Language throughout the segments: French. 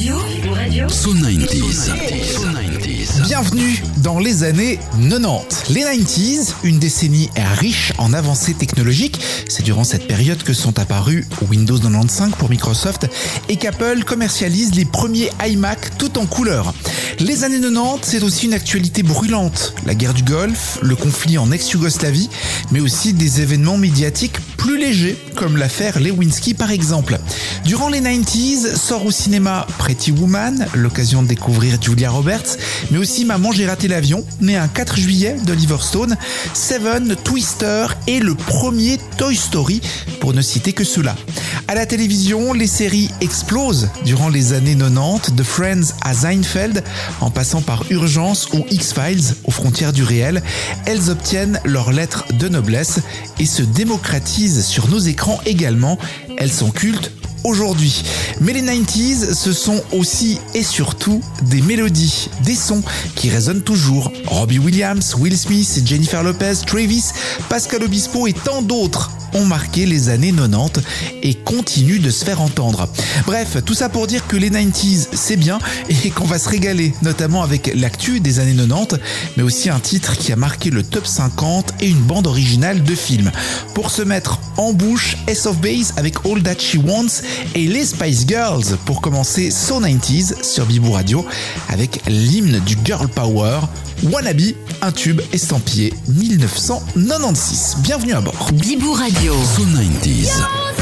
So 90s. Bienvenue dans les années 90. Les 90s, une décennie riche en avancées technologiques. C'est durant cette période que sont apparus Windows 95 pour Microsoft et qu'Apple commercialise les premiers iMac tout en couleur. Les années 90, c'est aussi une actualité brûlante. La guerre du Golfe, le conflit en ex-Yougoslavie, mais aussi des événements médiatiques plus légers, comme l'affaire Lewinsky par exemple. Durant les 90s, sort au cinéma Pretty Woman, l'occasion de découvrir Julia Roberts, mais aussi Maman j'ai raté l'avion, né un 4 juillet d'Oliver Stone, Seven, Twister et le premier Toy Story, pour ne citer que ceux-là. À la télévision, les séries explosent durant les années 90, de Friends à Seinfeld, en passant par Urgence ou X-Files, aux frontières du réel. Elles obtiennent leur lettre de noblesse et se démocratisent sur nos écrans également. Elles sont cultes aujourd'hui. Mais les 90s, ce sont aussi et surtout des mélodies, des sons qui résonnent toujours. Robbie Williams, Will Smith, Jennifer Lopez, Travis, Pascal Obispo et tant d'autres ont marqué les années 90 et continuent de se faire entendre. Bref, tout ça pour dire que les 90s, c'est bien et qu'on va se régaler, notamment avec l'actu des années 90, mais aussi un titre qui a marqué le top 50 et une bande originale de film. Pour se mettre en bouche, Ace of Base avec All That She Wants et les Spice Girls pour commencer So 90s sur Bibou Radio avec l'hymne du Girl Power, Wannabe, un tube estampillé 1996. Bienvenue à bord. Bibou Radio. So 90s.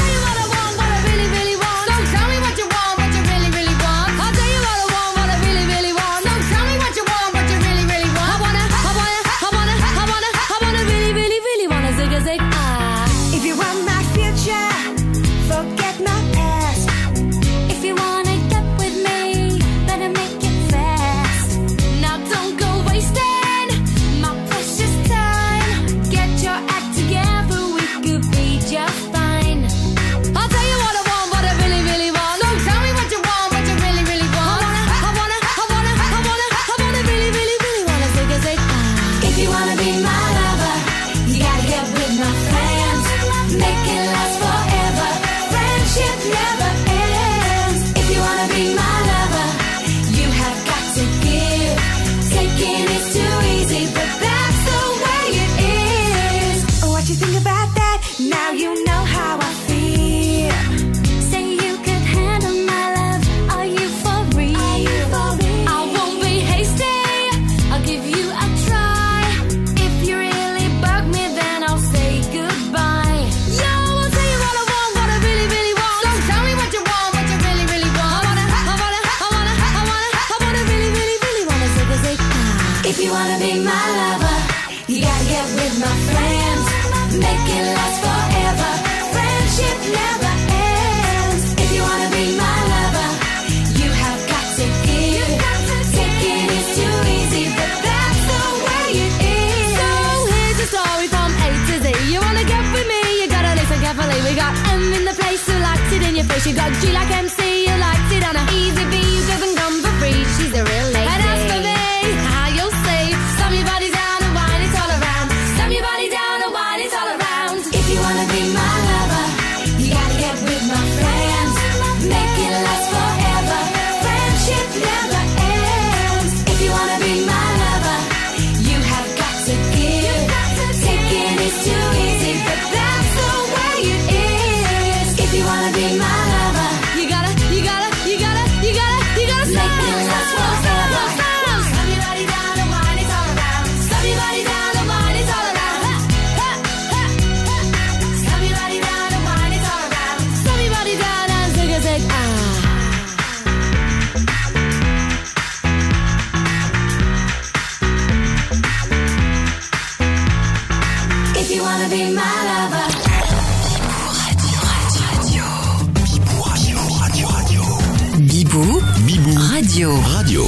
She got G like MC, you liked it on a easy V, you doesn't come for free, she's a real lady. And as for me, how you'll see, slam your body down and wine it all around. Slam your body down and wine it all around. If you wanna be my lover, you gotta get with my friends. Make it last forever, friendship never ends. If you wanna be my lover, you have got to give. Taking is too easy, but that's the way it is. If you wanna be my Bibou Radio.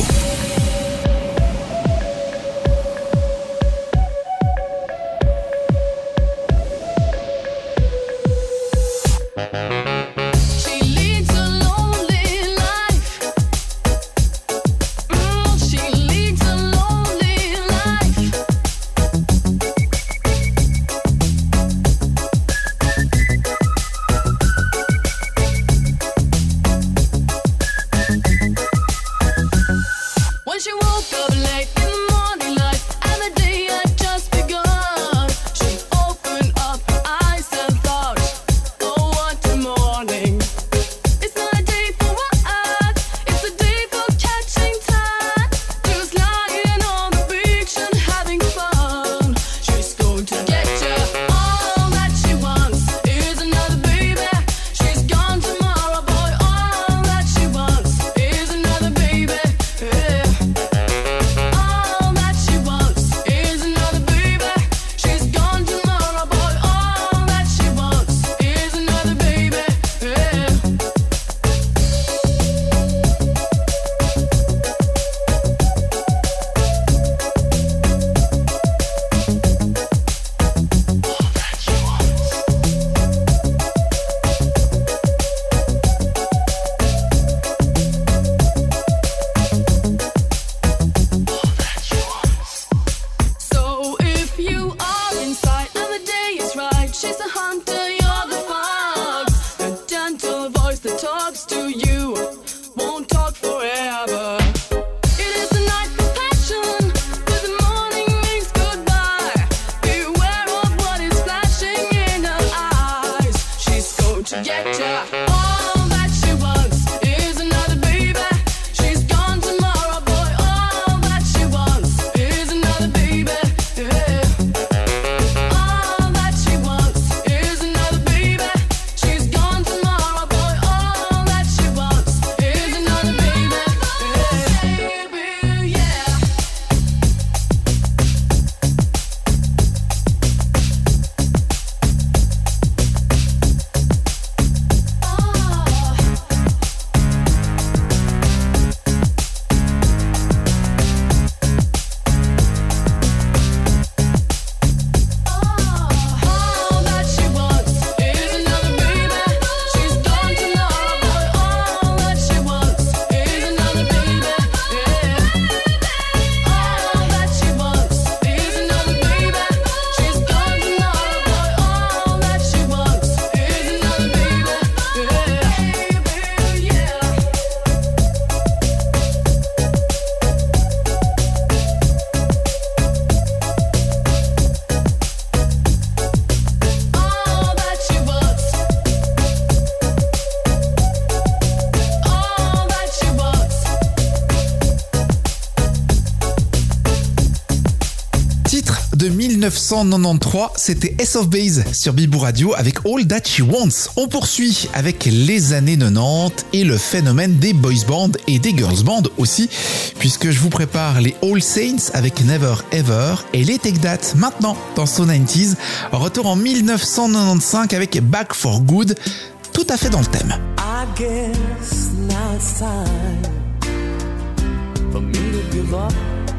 de 1993, c'était Ace of Base sur Bibou Radio avec All That She Wants. On poursuit avec les années 90 et le phénomène des boys bands et des girls bands aussi, puisque je vous prépare les All Saints avec Never Ever et les Take That maintenant dans So 90s. Retour en 1995 avec Back for Good, tout à fait dans le thème. I guess now it's time for me to give up.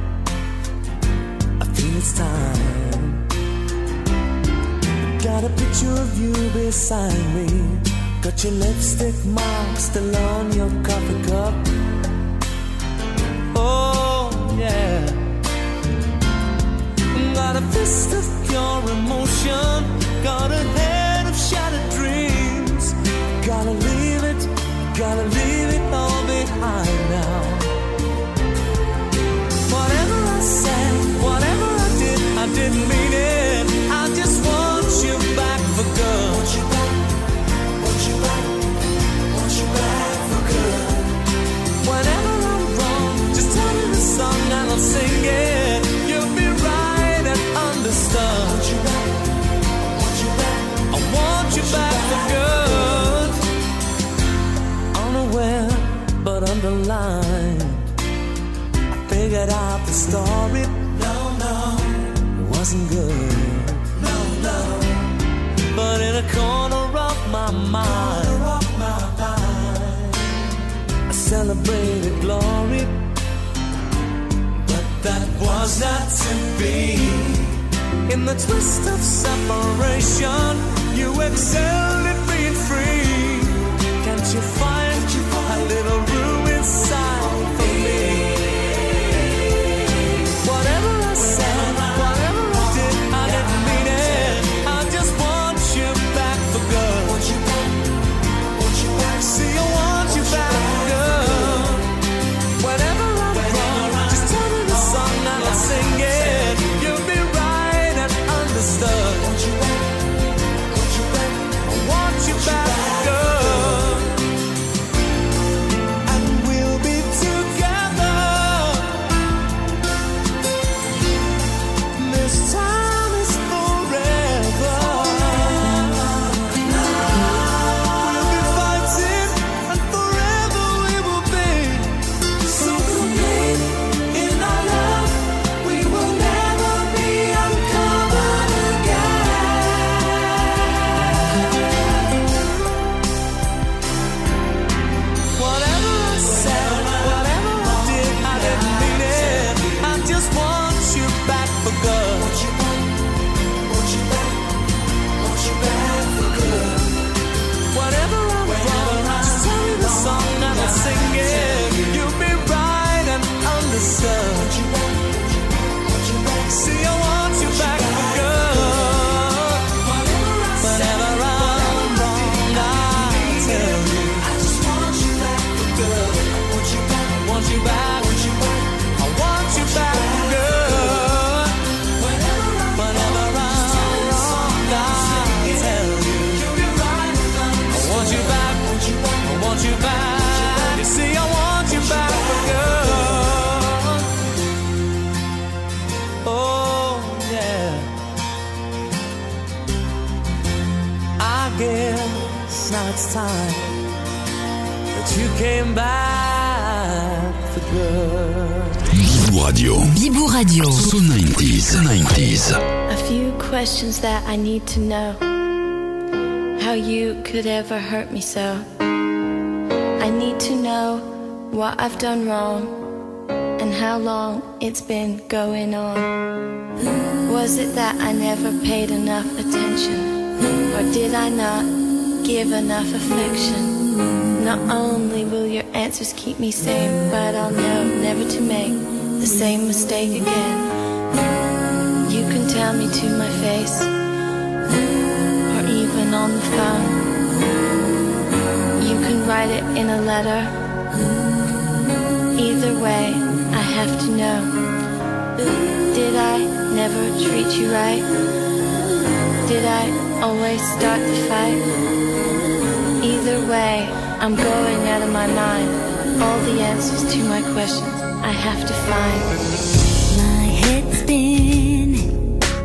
I feel it's time. Got a picture of you beside me. Got your lipstick mark still on your coffee cup. Oh yeah. Got a fist of pure emotion. Got a head of shattered dreams. Gotta leave it all behind now. Whatever I said, whatever I didn't mean it. I just want you back for good. Want you back for good. Whenever I'm wrong, just tell me the song and I'll sing it. You'll be right and understood. Want you back, I want you back for good. Unaware but underlined, I figured out the story. No, it wasn't good. No, but in a corner of my mind, I celebrated glory, but that was not to be. In the twist of separation, you excelled at being free. Can't you find a little room inside for me? Whatever I said, whatever I didn't mean it. I just want you back for good. Want you back. See, I want you back for good. Whenever I'm wrong, just tell me the song and I'll sing it. You'll be right and understood. Want you back. I want you back for good. And we'll be together. This time is forever. We'll be fighting and forever we will be. So complete in our love, we will never be uncovered again. Whatever I said, whatever I didn't mean it. I just want you back for good. Want you back for good. Whatever I'm wrong, just tell me the song and I'll sing it. You'll be right and understood. See, I want you back for good. Whenever I'm wrong, I'll tell you. I just want you back for good. I want you back. I want you back for good. Whenever I'm wrong, I'll tell you. I want you back. I want you back. You see, I want you back for good. Oh yeah. I guess now it's time that you came back for good. Bibou Radio. Bibou Radio. So 90s. A few questions that I need to know. How you could ever hurt me so. I need to know what I've done wrong and how long it's been going on. Was it that I never paid enough attention, or did I not give enough affection? Not only will your answers keep me sane, but I'll know never to make the same mistake again. You can tell me to my face, or even on the phone. You can write it in a letter. Either way, I have to know. Did I never treat you right? Did I always start the fight? Either way, I'm going out of my mind. All the answers to my questions I have to find. My head's spinning,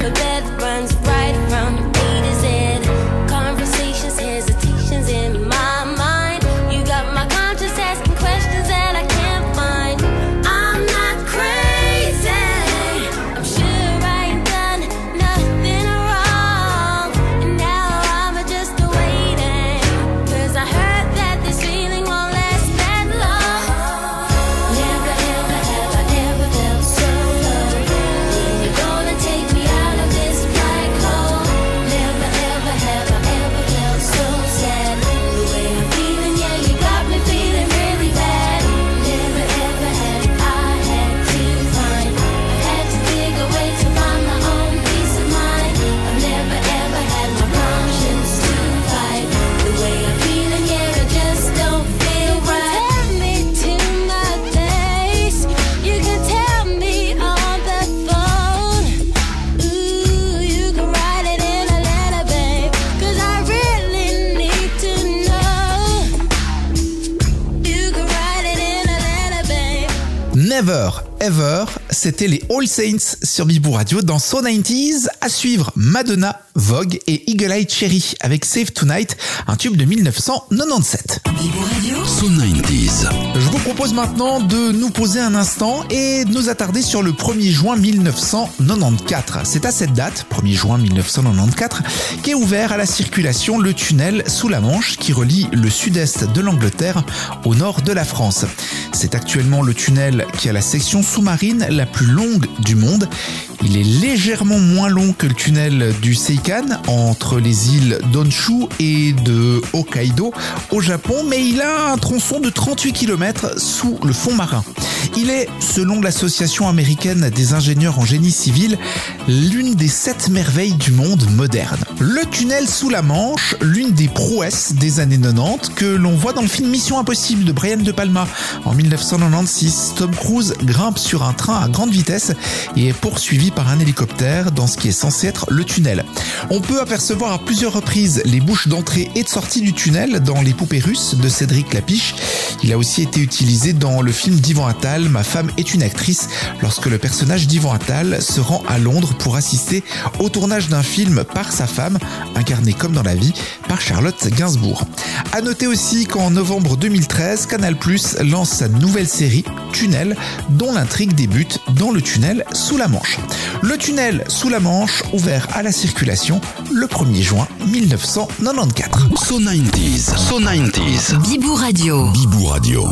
alphabet runs right from A to Z. Conversations, hesitations in my mind. You got my conscience asking questions that I can't find. I'm not crazy. I'm sure I ain't done nothing wrong. And now I'm just waiting. 'Cause I heard that this feeling won't last that long. Never ever have I ever felt so low. When you're gonna take me out of this black hole. Never ever have I ever felt so sad. The way I'm feeling, yeah, you got me feeling really bad. Never ever have I had to find. I've had to dig away to find my own peace of mind. I've never ever had my conscience to fight. The way I'm feeling, yeah, it just don't feel right. Tell me to my face. You can tell me on the phone. Ooh, you can write it in a letter, babe. 'Cause I really need to know. You can write it in a letter, babe. Never Ever, c'était les All Saints sur Bibou Radio dans So 90s. À suivre, Madonna, Vogue et Eagle Eye Cherry avec Save Tonight, un tube de 1997. So 90s. Je vous propose maintenant de nous poser un instant et de nous attarder sur le 1er juin 1994. C'est à cette date, 1er juin 1994, qu'est ouvert à la circulation le tunnel sous la Manche qui relie le sud-est de l'Angleterre au nord de la France. C'est actuellement le tunnel qui a la section sous-marine la plus longue du monde. Il est légèrement moins long que le tunnel du Seikan entre les îles d'Honshu et de Hokkaido au Japon, mais il a un tronçon de 38 km sous le fond marin. Il est, selon l'association américaine des ingénieurs en génie civil, l'une des 7 merveilles du monde moderne. Le tunnel sous la Manche, l'une des prouesses des années 90 que l'on voit dans le film Mission Impossible de Brian De Palma. En 1996, Tom Cruise grimpe sur un train à grande vitesse et est poursuivi par un hélicoptère dans ce qui est censé être le tunnel. On peut apercevoir à plusieurs reprises les bouches d'entrée et de sortie du tunnel dans Les Poupées Russes de Cédric Lapiche. Il a aussi été utilisé dans le film d'Yvan Attal, Ma femme est une actrice, lorsque le personnage d'Yvan Attal se rend à Londres pour assister au tournage d'un film par sa femme, incarné comme dans la vie par Charlotte Gainsbourg. À noter aussi qu'en novembre 2013, Canal+ lance sa nouvelle série Tunnel, dont l'intrigue débute dans le tunnel sous la Manche. Le tunnel sous la Manche, ouvert à la circulation le 1er juin 1994. So 90s. So 90s. Bibou Radio. Bibou Radio.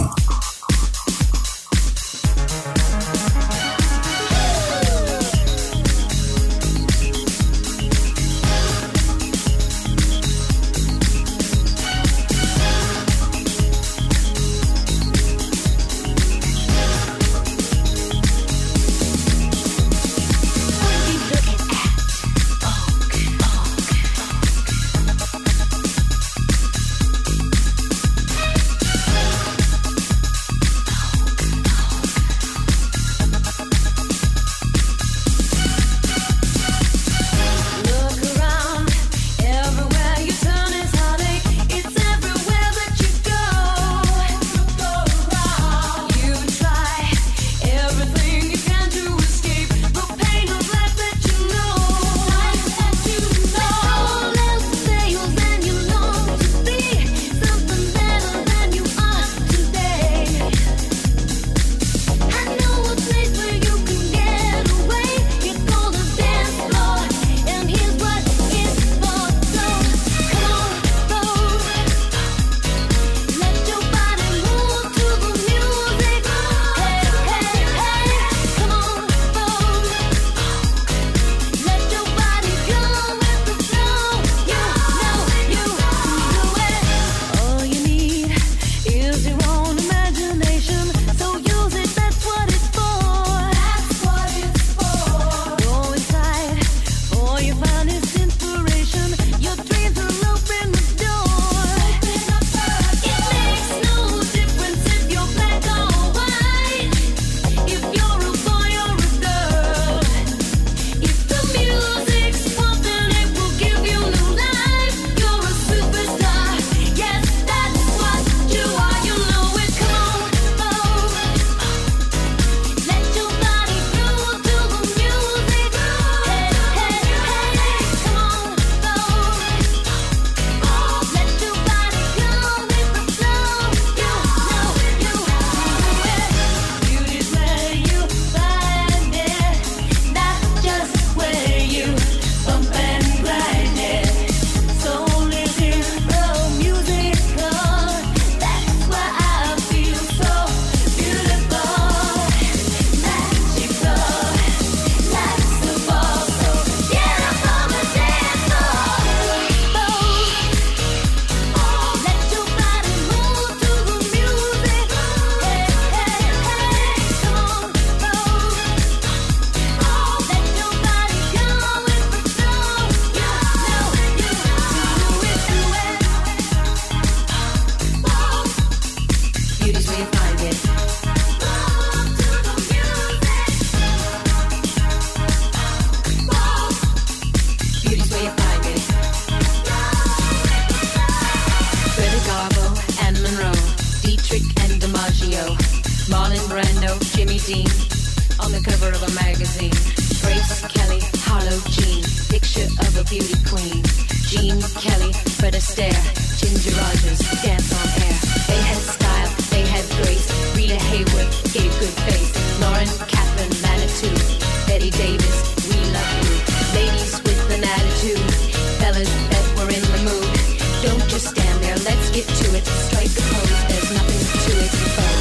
Fred Astaire, Ginger Rogers, dance on air. They had style, they had grace. Rita Hayworth gave good face. Lauren Kaplan, Manitou, Betty Davis, we love you. Ladies with an attitude, fellas that were in the mood. Don't just stand there, let's get to it. Strike a pose, there's nothing to it.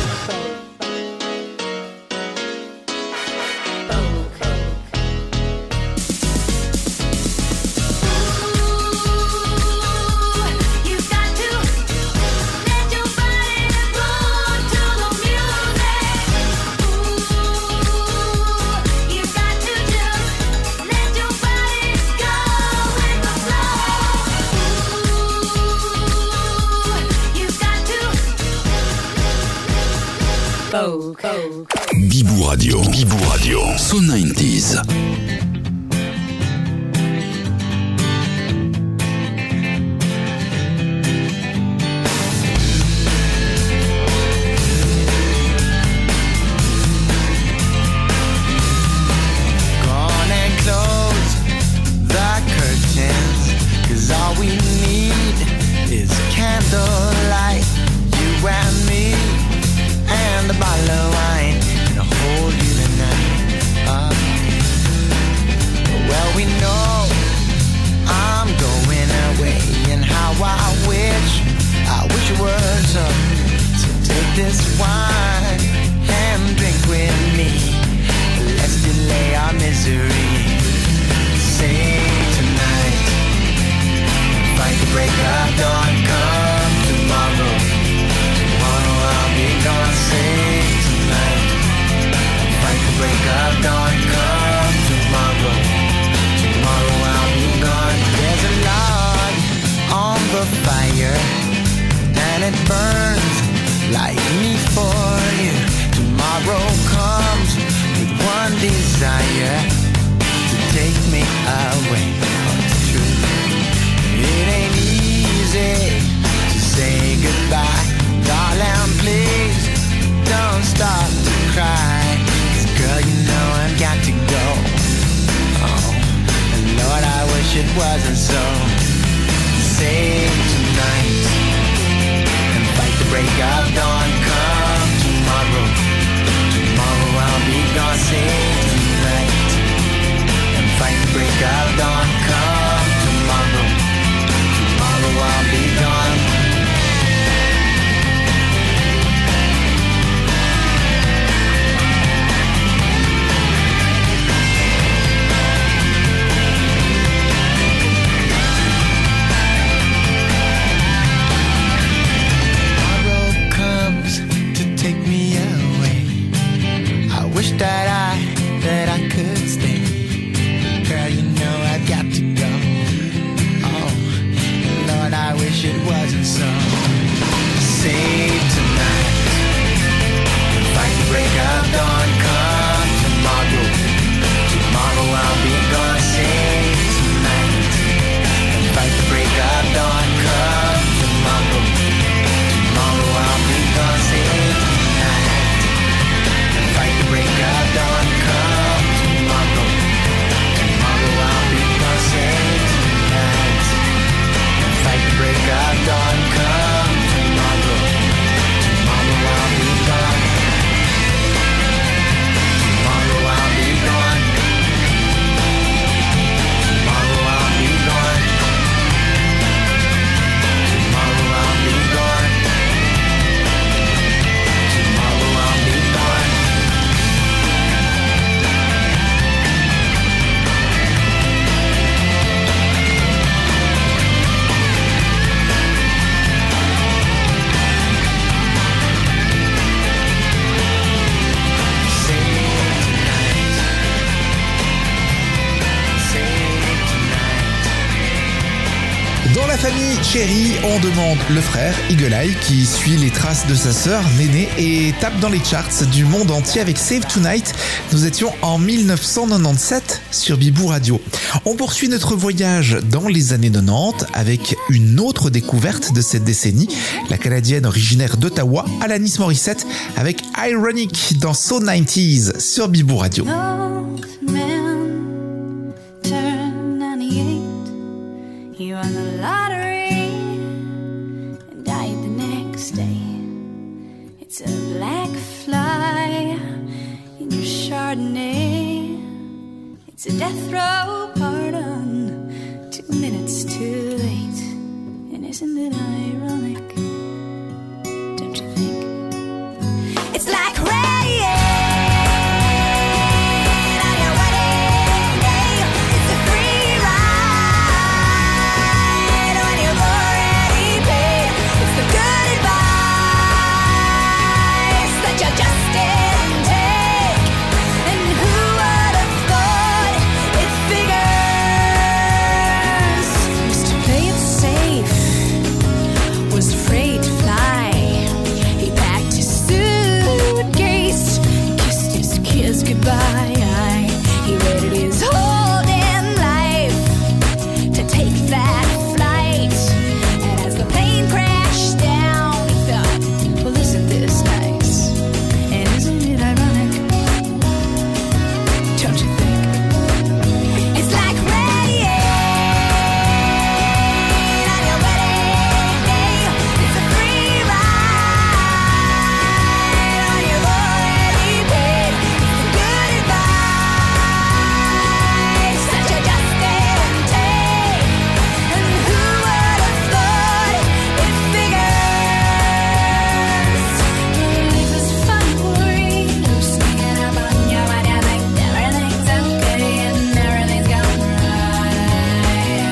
Bibou Radio. Bibou Radio. So 90s. Chérie, on demande le frère Eagle Eye qui suit les traces de sa sœur Néné et tape dans les charts du monde entier avec Save Tonight. Nous étions en 1997 sur Bibou Radio. On poursuit notre voyage dans les années 90 avec une autre découverte de cette décennie, la Canadienne originaire d'Ottawa, Alanis Morissette avec Ironic dans So 90s sur Bibou Radio. You won the lottery. It's a death row pardon, 2 minutes too late. And isn't it ironic? Don't you think? It's like rain on your wedding day. It's a free ride when you've already paid. It's the good advice that you just didn't take. And who would have thought it figures? Used to play it safe, was afraid to fly. He packed his suitcase, kissed his kids goodbye. He waited his whole damn life to take that flight. And as the plane crashed down, he thought, well, isn't this nice? And isn't it ironic? Don't you think? It's like rain on your wedding day. It's a free ride when you've already paid. It's the good advice that you just didn't take. And who would have thought it figures? Life is funny, boy. You're sneaking up on you when you think everything's okay and everything's going right.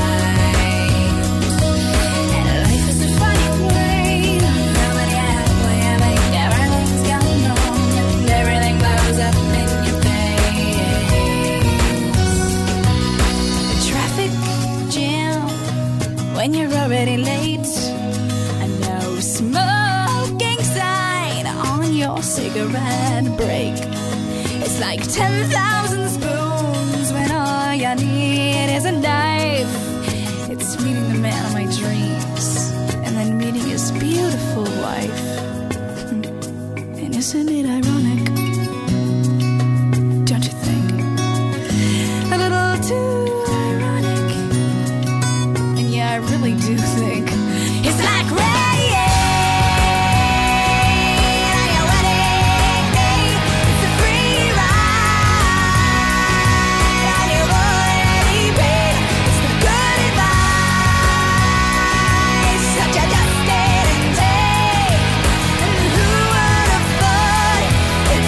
And life is a funny way. Nobody has when you think everything's going wrong and everything blows up in your face. The traffic jam when you're already late. A no smoking sign on your cigarette break. It's like 10,000 spoons when all you need is a knife. It's meeting the man of my dreams and then meeting his beautiful wife. And isn't it ironic? Don't you think? A little too ironic. And yeah, I really do think it's like rain on your wedding day. It's a free ride when you've already paid. It's the good advice that you just didn't take. And who would have thought it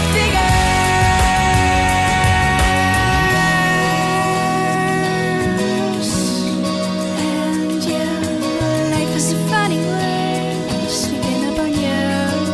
figures? And yeah, life is a funny way, sneaking up on you.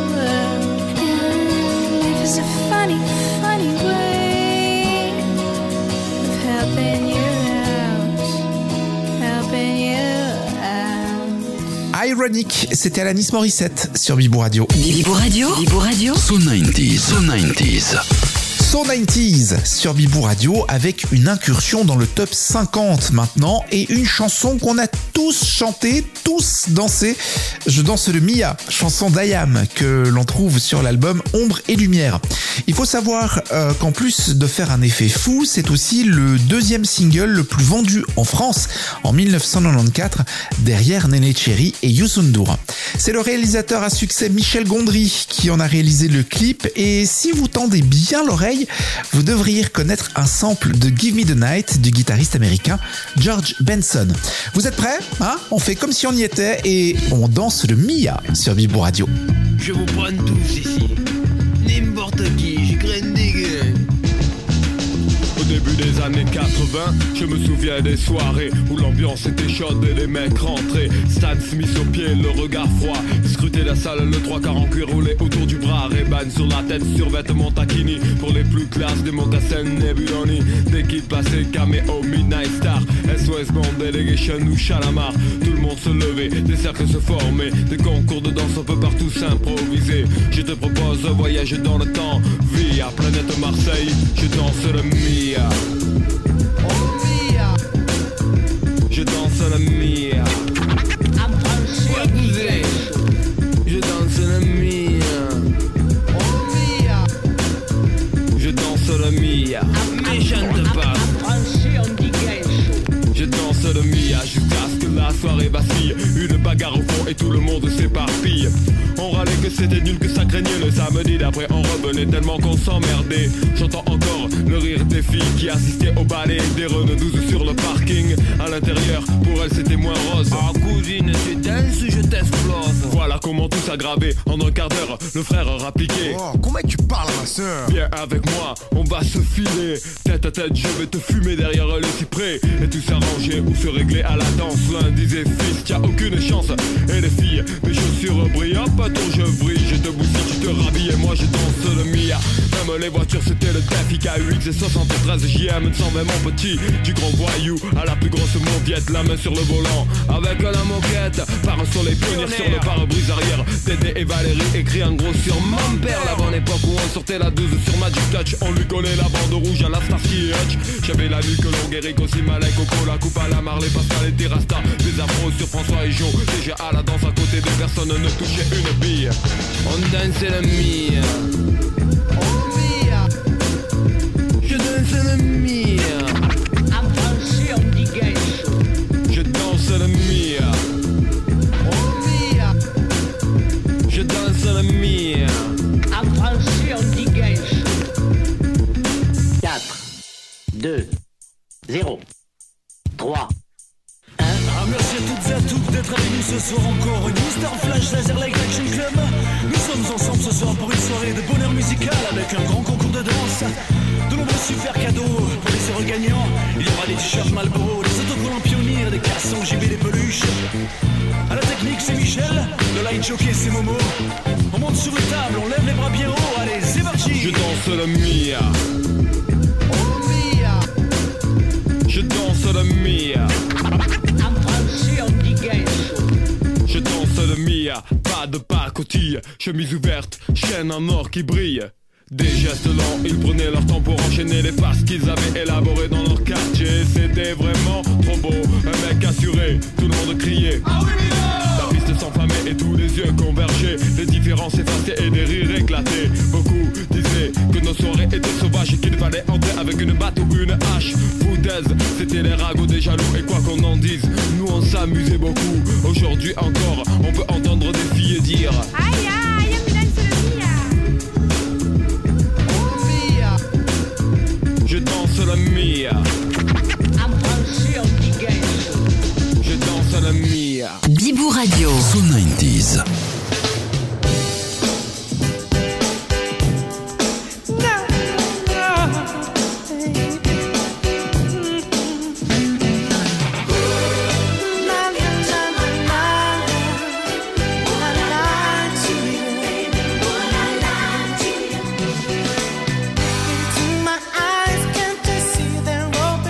And life is a funny, funny way of helping you out, helping you out. Ironic, c'était Alanis Morissette sur Bibou Radio. Bibou Radio. Bibou Radio. So 90s. So 90s. So 90s sur Bibou Radio avec une incursion dans le top 50 maintenant et une chanson qu'on a tous chanté, tous dansé. Je danse le Mia, chanson d'Ayam que l'on trouve sur l'album Ombre et Lumière. Il faut savoir qu'en plus de faire un effet fou, c'est aussi le deuxième single le plus vendu en France en 1994 derrière Néné Cherry et Youssou N'Dour. C'est le réalisateur à succès Michel Gondry qui en a réalisé le clip et si vous tendez bien l'oreille, vous devriez reconnaître un sample de Give Me the Night du guitariste américain George Benson. Vous êtes prêts ? On fait comme si on y était et on danse le Mia sur Bibou Radio. Je vous prends tous ici. N'importe qui, je graine des graines. Au début des années 80, je me souviens des soirées où l'ambiance était chaude et les mecs rentraient. Stan Smith au pied, le regard froid. Scruter la salle, le 3/4 en cuir roulé autour du bras. Ray-Ban sur la tête, survêtement taquini. Pour les plus classes, des mocassins Nebuloni. Des kits passés, caméo, Midnight Star. SOS Band, Delegation ou Chalamar. Tout le monde se levait, des cercles se formaient. Des concours de danse, on peut partout s'improviser. Je te propose un voyage dans le temps. Via planète Marseille, je danse le Mia. Je danse la Mia. Je danse la Mia. Je danse la Mia. Mais je ne pas. Je danse le Mia jusqu'à ce que la soirée vacille. Une bagarre au fond et tout le monde s'éparpille. On râler que c'était nul, que ça craignait. Le samedi d'après on revenait tellement qu'on s'emmerdait. J'entends encore le rire des filles qui assistaient au balai des Renault 12 sur le parking. À l'intérieur, pour elles c'était moins rose. Ah cousine, tu danses, je t'explose. Voilà comment tout s'aggravait. En un quart d'heure, le frère rappliquait. Oh, comment tu parles à ma sœur? Viens avec moi, on va se filer. Tête à tête, je vais te fumer derrière le cyprès. Et tout s'arranger ou se régler à la danse. L'un disait fils, t'as aucune chance. Et les filles, mes chaussures brillent. Hop, attends, je brille, je te bousille, tu te rhabilles. Et moi je danse le Mia. Même les voitures, c'était le Daffy K8 et 73 JM 120 mon petit. Du grand voyou à la plus grosse mauviette. La main sur le volant, avec la moquette. Par un soleil pionnier sur le pare-brise arrière. Dédé et Valérie écrit en gros sur mon père. La bonne époque où on sortait la 12 sur Magic Touch. On lui collait la bande rouge à la Starsky Hutch. J'avais la nuque longue, Eric aussi malin, Coco, la coupe à la Marley, Pascal et Terrasta. Des afros sur François et Joe. Déjà à la danse à côté de personne ne touchait une bille. On dansait le Mia. Je danse le Mia. En français on dit gaucho. Je danse le Mia. Je danse le Mia. En français on dit gaucho. 4, 2, 0, 3. Ah, merci à toutes et à tous d'être avec nous ce soir encore. Une Star Flash Laser Light Action Club. Nous sommes ensemble ce soir pour une soirée de bonheur musical avec un grand concours de danse. De nombreux super cadeaux pour les heureux gagnants. Il y aura des t-shirts Marlboro, des autocollants Pionnier, des cassons JB, des peluches. À la technique c'est Michel, le light jockey c'est Momo. On monte sur les tables, on lève les bras bien haut. Allez, c'est parti. Je danse le Mia. Je danse le Mia. En français on dit gaucho. Je danse le Mia, pas de pacotille. Chemise ouverte, chaîne en or qui brille. Des gestes lents, ils prenaient leur temps pour enchaîner les passes qu'ils avaient élaborées dans leur quartier. C'était vraiment trop beau, un mec assuré, tout le monde criait. Ah oui, la piste s'enflammait et tous les yeux convergeaient. Les différences effacées et des rires éclatés. Beaucoup disaient que nos soirées étaient sauvages et qu'il fallait entrer avec une batte ou une hache. Foutaise, c'était les ragots des jaloux. Et quoi qu'on en dise, nous on s'amusait beaucoup. Aujourd'hui encore, on peut entendre des filles dire Aïe aïe, mi danse le Mia. je danse le Mia. En français on dit gaucho. Je danse le Mia. Bibou Radio. So 90s. My eyes can't you see they're open?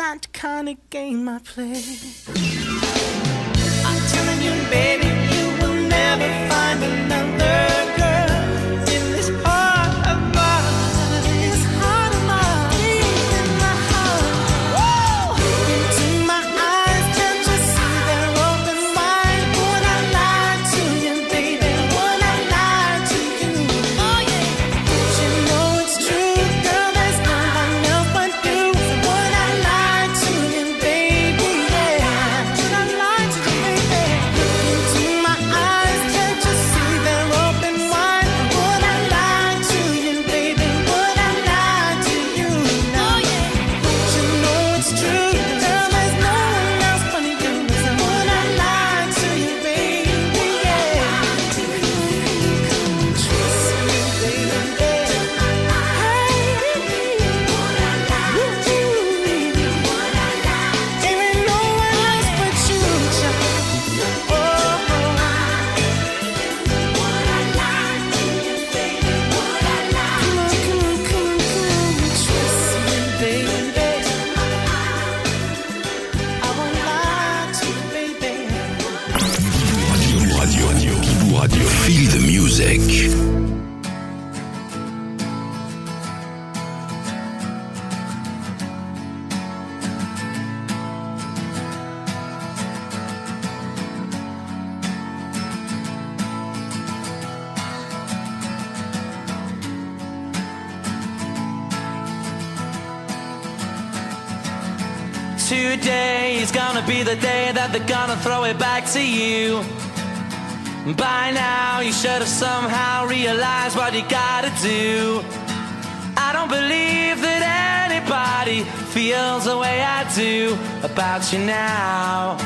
not the kind of game I play. I'm telling you, baby, you will never find another girl in this heart of mine. This heart of mine, in my heart. Woo! Into my eyes, can't you see they're open wide? Would I lie to you, baby? Would I lie to you? Oh yeah. You know it's true, girl. There's no one else but you. Would I lie to you, baby? Yeah. Would I lie to you, baby? Into my eyes, can't you see they're open wide? Would I lie to you, baby? Would I lie to you? No, yeah. You know it's true, girl. There's no one else but you. Would I lie to you, baby? Yeah. Trust me, baby. There ain't no one else but you, child. Oh, come on, trust me, baby. I won't lie to you, baby. Bibou Radio. Feel the music. Today is gonna be the day that they're gonna throw it back to you. By now you should have somehow realized what you gotta do. I don't believe that anybody feels the way I do about you now.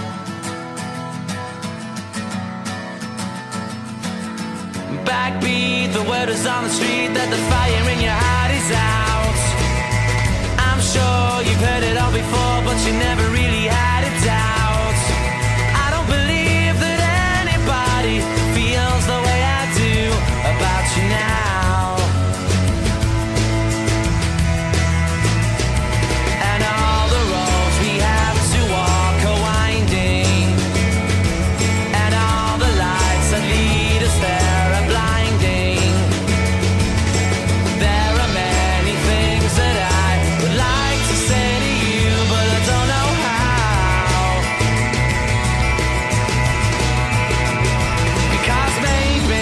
Backbeat, the word is on the street that the fire in your heart is out. I'm sure you've heard it all before, but you never really had a doubt. I don't believe that anybody feels the way I do about you now. And all the roads we have to walk are winding, and all the lights that lead us there are blinding. There are many things that I would like to say to you, but I don't know how. Because maybe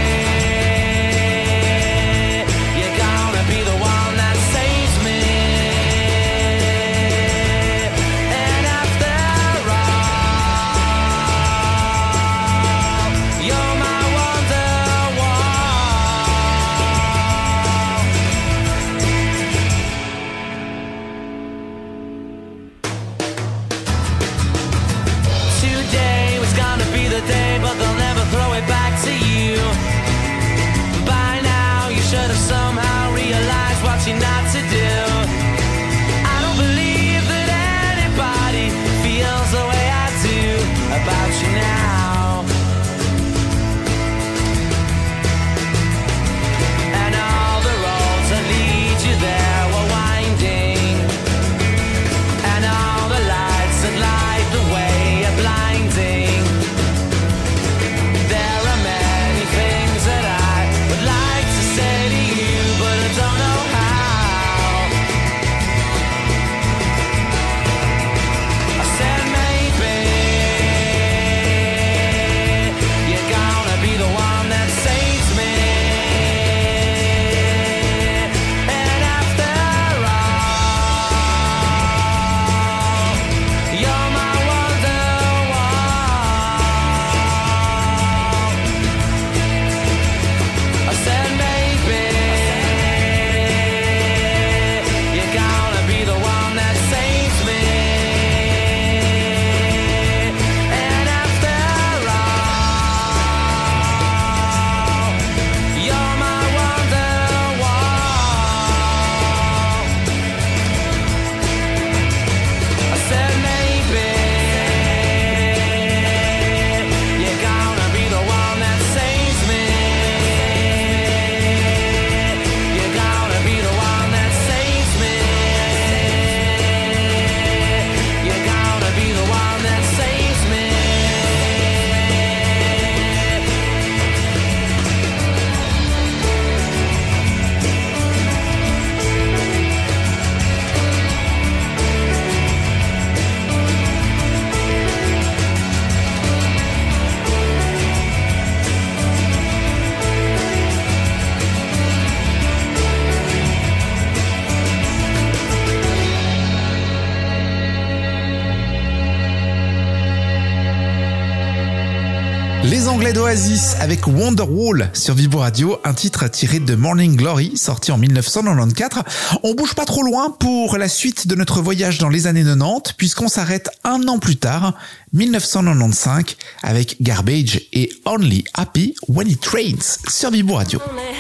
you're gonna be the one that saves me. And after all, you're my Wonderwall. Today was gonna be the day, but they'll never throw it back to you. By now you should have somehow realized what you're not to do. I don't believe that anybody feels the way I do about you now. And all the roads that lead you there were winding, and all the lights that light the way are blinding. Les Anglais d'Oasis avec Wonderwall sur Vibo Radio, un titre tiré de Morning Glory, sorti en 1994. On bouge pas trop loin pour la suite de notre voyage dans les années 90, puisqu'on s'arrête un an plus tard, 1995, avec Garbage et Only Happy When It Rains sur Vibo Radio.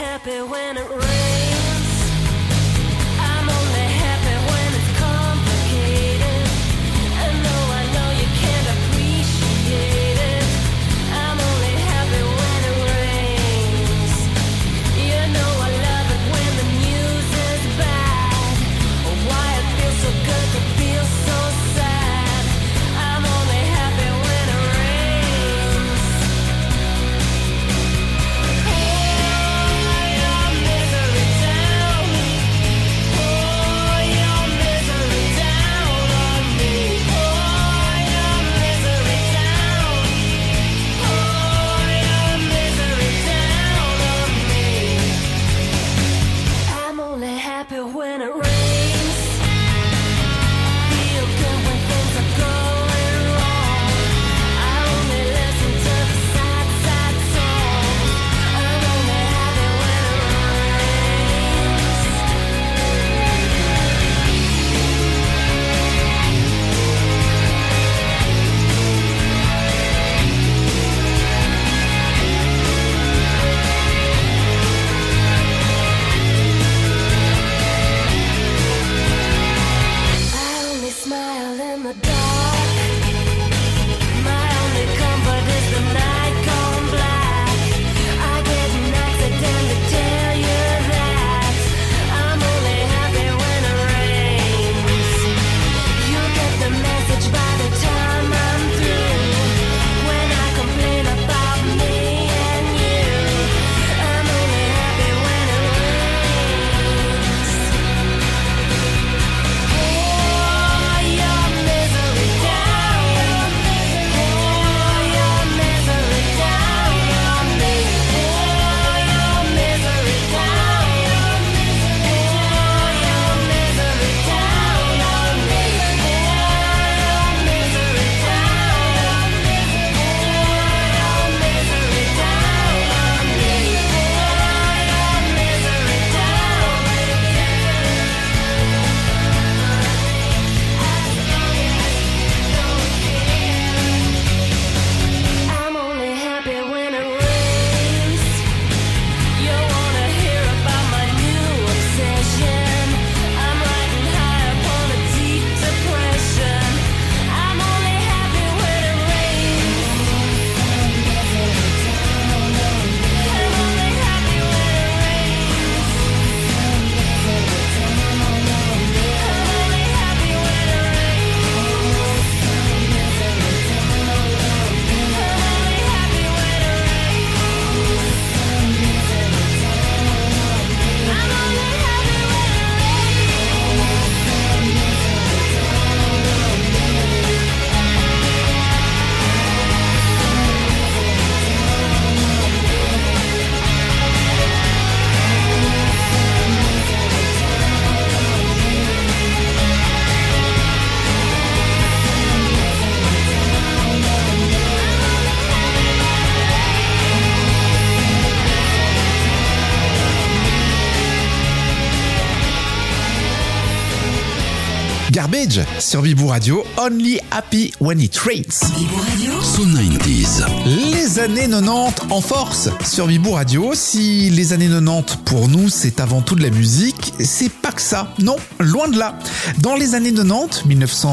Garbage sur Vibo Radio, Only Happy When It Rains. Vibo Radio. So 90s. Les années 90 en force sur Vibo Radio. Si les années 90 pour nous c'est avant tout de la musique, c'est pas que ça. Non, loin de là. Dans les années 90,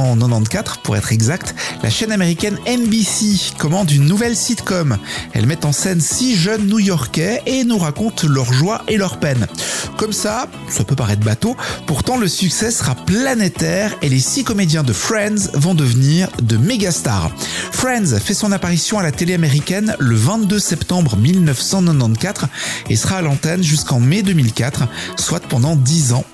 1994 pour être exact, la chaîne américaine NBC commande une nouvelle sitcom. Elle met en scène 6 jeunes New-Yorkais et nous raconte leur joie et leur peine. Comme ça peut paraître bateau, pourtant le succès sera planétaire et les 6 comédiens de Friends vont devenir de méga stars. Friends fait son apparition à la télé américaine le 22 septembre 1994 et sera à l'antenne jusqu'en mai 2004, soit pendant 10 ans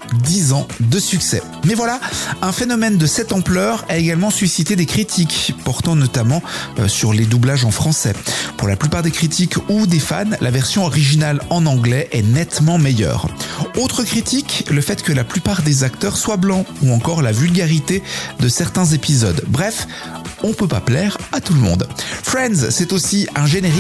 de succès. Mais voilà, un phénomène de cette ampleur a également suscité des critiques, portant notamment sur les doublages en français. Pour la plupart des critiques ou des fans, la version originale en anglais est nettement meilleure. Autre critique, le fait que la plupart des acteurs soient blancs ou encore la vulgarité de certains épisodes. Bref, on peut pas plaire à tout le monde. Friends, c'est aussi un générique.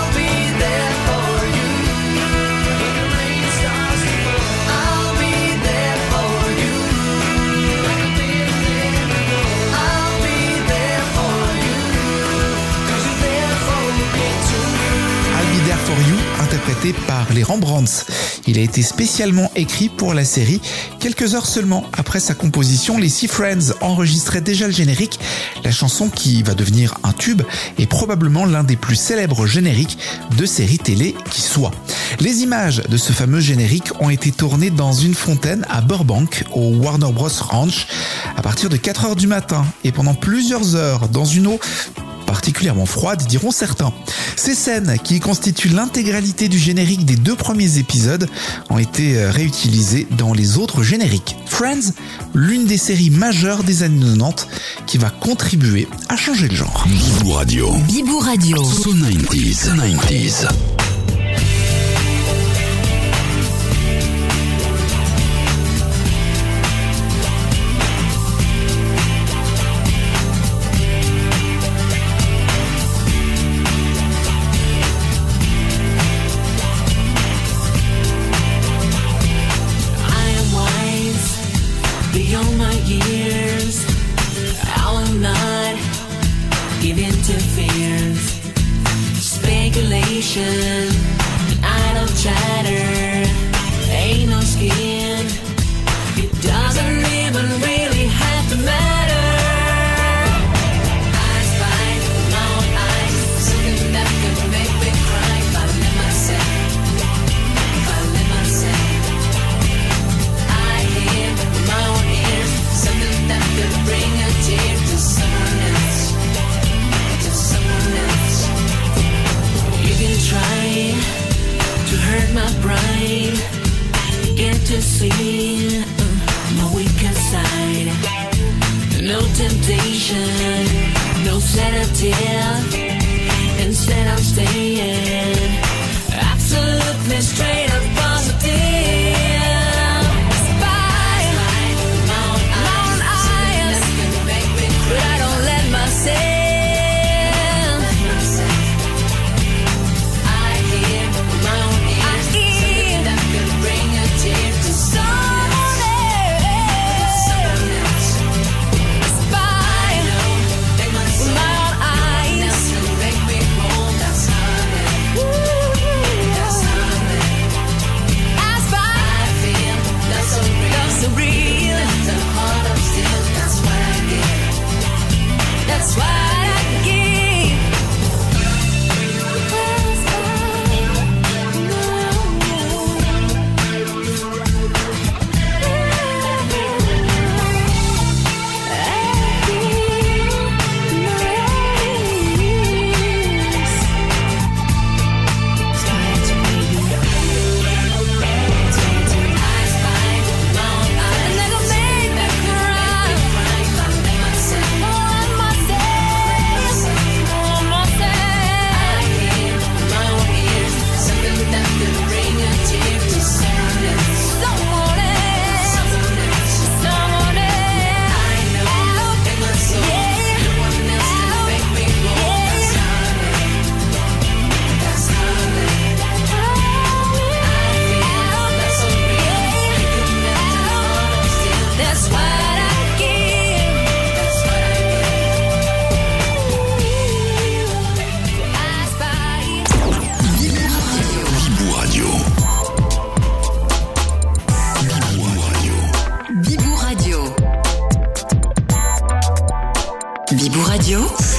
For You, interprété par les Rembrandts. Il a été spécialement écrit pour la série. Quelques heures seulement après sa composition, les Sea Friends enregistraient déjà le générique. La chanson, qui va devenir un tube, est probablement l'un des plus célèbres génériques de séries télé qui soit. Les images de ce fameux générique ont été tournées dans une fontaine à Burbank, au Warner Bros Ranch, à partir de 4h du matin et pendant plusieurs heures dans une eau particulièrement froide, diront certains. Ces scènes, qui constituent l'intégralité du générique des 2 premiers épisodes, ont été réutilisées dans les autres génériques. Friends, l'une des séries majeures des années 90, qui va contribuer à changer le genre. Bibou Radio. Bibou Radio. So 90s. Beyond my years, I will not give in to fears, speculation, idle chatter, ain't no skin. It doesn't even really have to matter. I spy my own eyes, something that could make me cry if I let myself, if I let myself. I hear my own ears, something that could bring a tear to someone else, to someone else. You can try to hurt my pride, get to see my weaker side. No temptation, no sedative. Instead I'm staying absolutely straight up positive. Spy my own eyes, but I don't let myself. I hear my own ears, something that could bring a tear to someone else. Spy my own eyes, make me whole. That's honey. That's honey. I spy. I feel that's so real. That's so real. The heart of steel. That's what I give. That's what I give. Bibou Radio. Bibou Radio. Bibou Radio.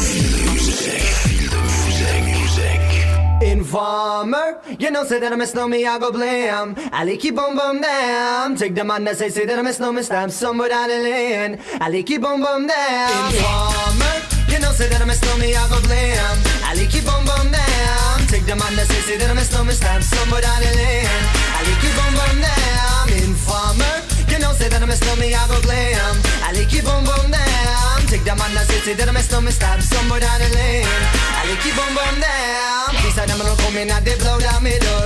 Informer, you know, say that I miss no me, I go blam. I keep boom boom damn. Take the man that say that I miss no me, stamp somewhere down the lane. I keep boom boom damn. Informer, you know, say that I miss no me, I go blam. I keep boom boom damn. Take the man that say that I miss no me, stamp somewhere down the lane. I keep boom boom damn. Informer, you know, say that I miss no me, I go blam. I keep boom boom damn. Take the man that say that I miss no me, stamp somewhere down the lane. I keep boom boom damn. These are them no come in and they blow down my door.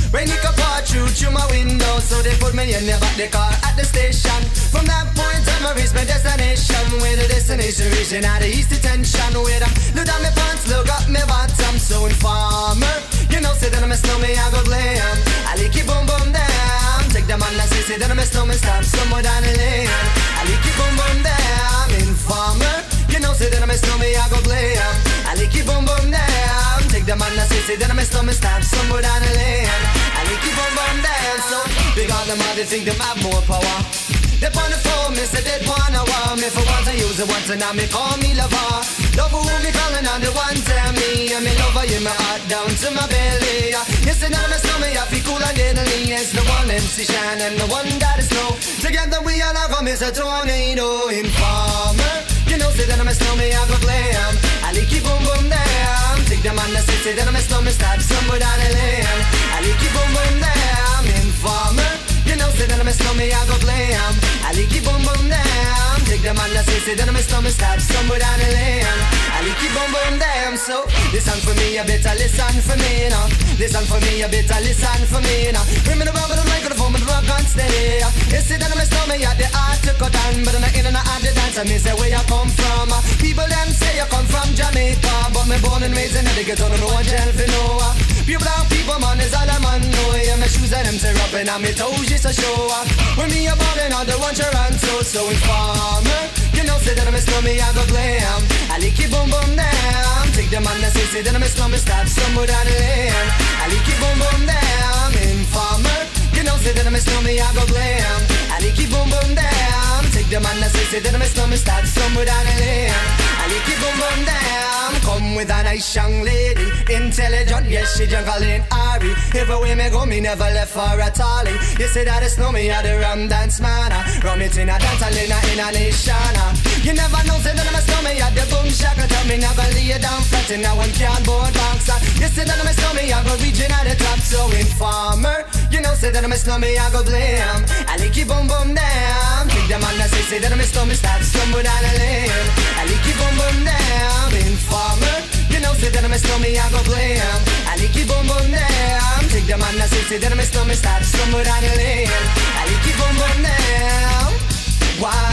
Rain it could pour through my window, so they put me in the back the car at the station. From that point on, I reached my destination. Where the destination region out of East Detention. Where I look down my pants, look up my bottom. So informer, you know, say that I'm a snowman, I go glam. I like it boom boom down. Take the man that say that I'm a snowman, stop somewhere down the lane. I like it boom boom down. Informer, you know, say that I'm a snowman, I go glam. I like it boom boom down. Take the man that say that I'm a snowman, stop somewhere down the lane. I like it boom boom down. So big on them, they think them have more power. They on the phone, me say they wanna wow me. For once I use it once and now me call me lover. Love who me calling on the one tell me. And me lover in my heart down to my belly. Yes, and now my stomach I feel cool and deadly. It's the one MC Shine and the one that is snow. Together we all have come as a tornado. Informer, you know say that I'm a snowman, I go glam. I like it boom boom down. Take the man that say that I'm a snowman, start somewhere down the lane. I like it boom boom down. Informer, you know say that I'm a snowman, I go glam. I like it boom boom down. Take the man that say that I'm a snowman, start somewhere down the lane. I like it boom boom down. So listen for me, you better listen for me now. Listen for me, you better listen for me now. Bring me the rubber, the microphone, but the rock on steady. You say that I'm a snowman, you the art to cut down, but I'm not in and out the dance. I mean say where you come from. People them say you come from Jamaica, but me born and raised in the ghetto, no one tell for no. Pure brown people, man, is all I'm on. No, yeah, my shoes and them tear up and my toes just a show. When me a ballin' on the one Toronto, so informer, you know say that I'm a snowman, I go glam. I like it boom boom down. Take the man that say that I'm a snowman, stop somewhere down the lane. I like it boom boom down. Informer, you know say that I'm a snowman, I go glam. I like it boom boom down. Take the man that say that I'm a snowman, stop somewhere down the lane. I like it boom boom down. Come with a nice young lady, intelligent, yes she juggling Ari. Everywhere me go, me never left for a tally. You say that it's no me, I the rum dance man. Rum it in a dance, I in a nation. You never know, say that I'm a snowman, I the boom shaka. Tell me never lay down flat in a one cardboard box. You say that I'm a snowman, I go reaching at the top. So informer, you know say that I'm a snowman, I go blame. I like it boom boom down. Take the man that say that I'm a snowman, start somewhere down the lane. I like it boom boom down. Informer, you know say that I'm a snowman, I go blame. I like it boom boom down. Take the man that say that I'm a snowman, start somewhere down the lane. I like it boom boom down. Why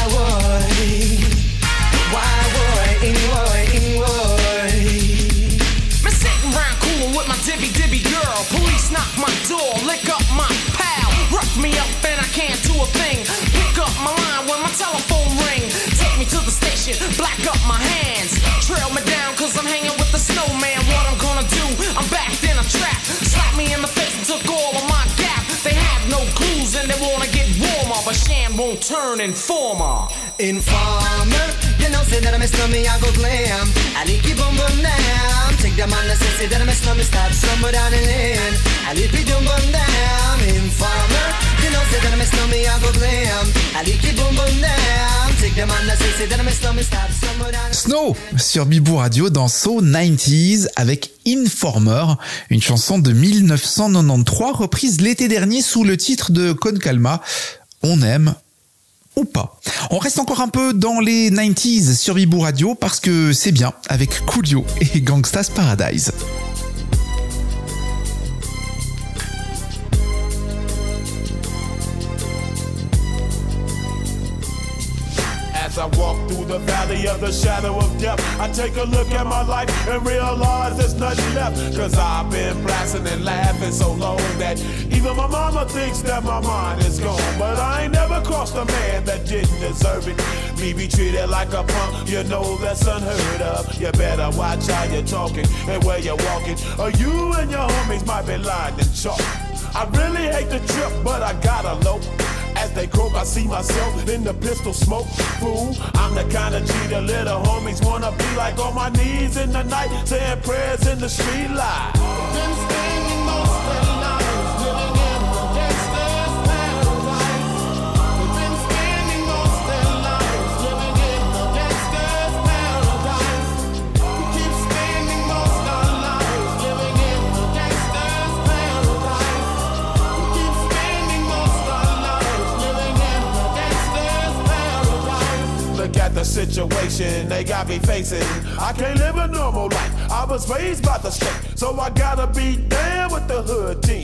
would Me sitting round coolin' with my dibby girl. Police knock my door, lick up my pal. Rough me up and I can't do a thing. Pick up my line when my telephone ring. Take me to the station, black up my hands. Trail me down cause I'm hanging with the snowman. What I'm gonna do, I'm backed in a trap. Slap me in the face and took all of my gap. They have no clues and they wanna get warmer, but Shan won't turn informer. Informer, you know say that I'm a snowman, I go glam. I like it boom boom down. Take the man that say that I'm a snowman, start somewhere down the lane. I like it boom boom down. Informer, you know say that I'm a snowman, I go glam. I like it boom boom down. Take the man that say that I'm a snowman, start somewhere down the Snow sur Bibou Radio dans So 90s avec Informer, une chanson de 1993 reprise l'été dernier sous le titre de Con Calma. On aime ou pas. On reste encore un peu dans les 90s sur Bibou Radio parce que c'est bien avec Coolio et Gangsta's Paradise. As I walk through the valley of the shadow of death, I take a look at my life and realize there's nothing left. Cause I've been blasting and laughing so long that even my mama thinks that my mind is gone. But I ain't never crossed a man that didn't deserve it. Me be treated like a punk, you know that's unheard of. You better watch how you're talking and where you're walking, or you and your homies might be lying in chalk. I really hate the trip, but I gotta low. As they croak, I see myself in the pistol smoke. Fool, I'm the kind of G the little homies wanna be like, on my knees in the night, saying prayers in the street light. Been spending most of their lives living in a gangster's paradise. We've been spending most of their lives living in a gangster's paradise. We keep spending most of our lives living in a gangster's paradise. We keep spending most of our lives living in a gangster's paradise. Look at the situation they got me facing. I can't live a normal life. I was raised by the state, so I gotta be down with the hood team.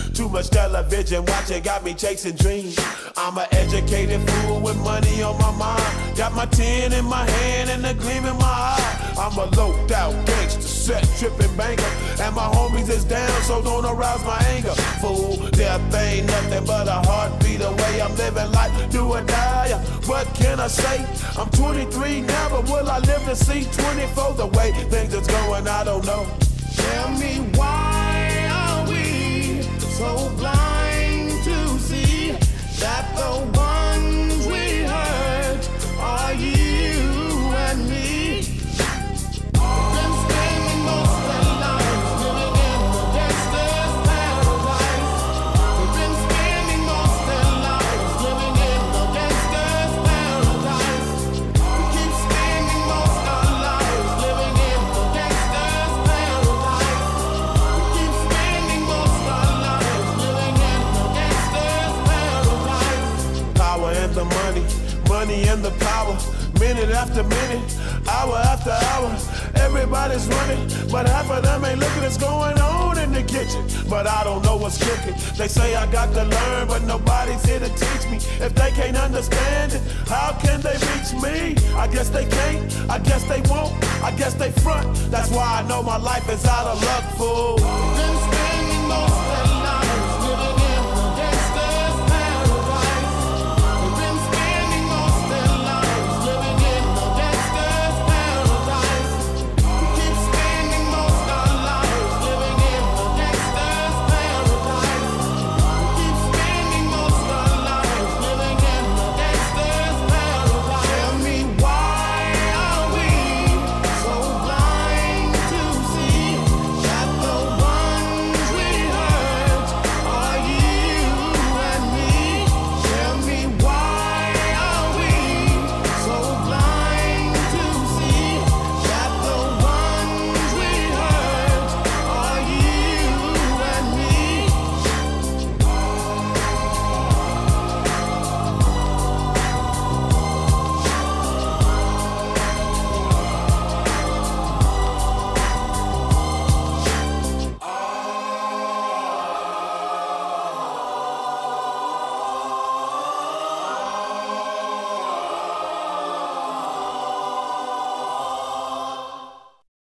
Too much television watching got me chasing dreams. I'm an educated fool with money on my mind. Got my tin in my hand and a gleam in my eye. I'm a loped out gangster, set tripping banker. And my homies is down, so don't arouse my anger. Fool, death ain't nothing but a heartbeat away. I'm living life, do or die. What can I say? I'm 23 now, but will I live to see 24? The way things is going, I don't know. Tell me why are we so blind to see that the ones we hurt are you and me? Been spending most of their lives living in the gangster's paradise. They've been spending most of their lives living in the gangster's paradise. We keep spending most of our lives living in the gangster's paradise. We keep spending most of our lives living in the gangster's paradise. Power and the money, money and the power. Minute after minute, hour after hour, everybody's running, but half of them ain't looking what's going on in the kitchen. But I don't know what's cooking. They say I got to learn, but nobody's here to teach me. If they can't understand it, how can they reach me? I guess they can't, I guess they won't, I guess they front. That's why I know my life is out of luck, fool. Been spending most of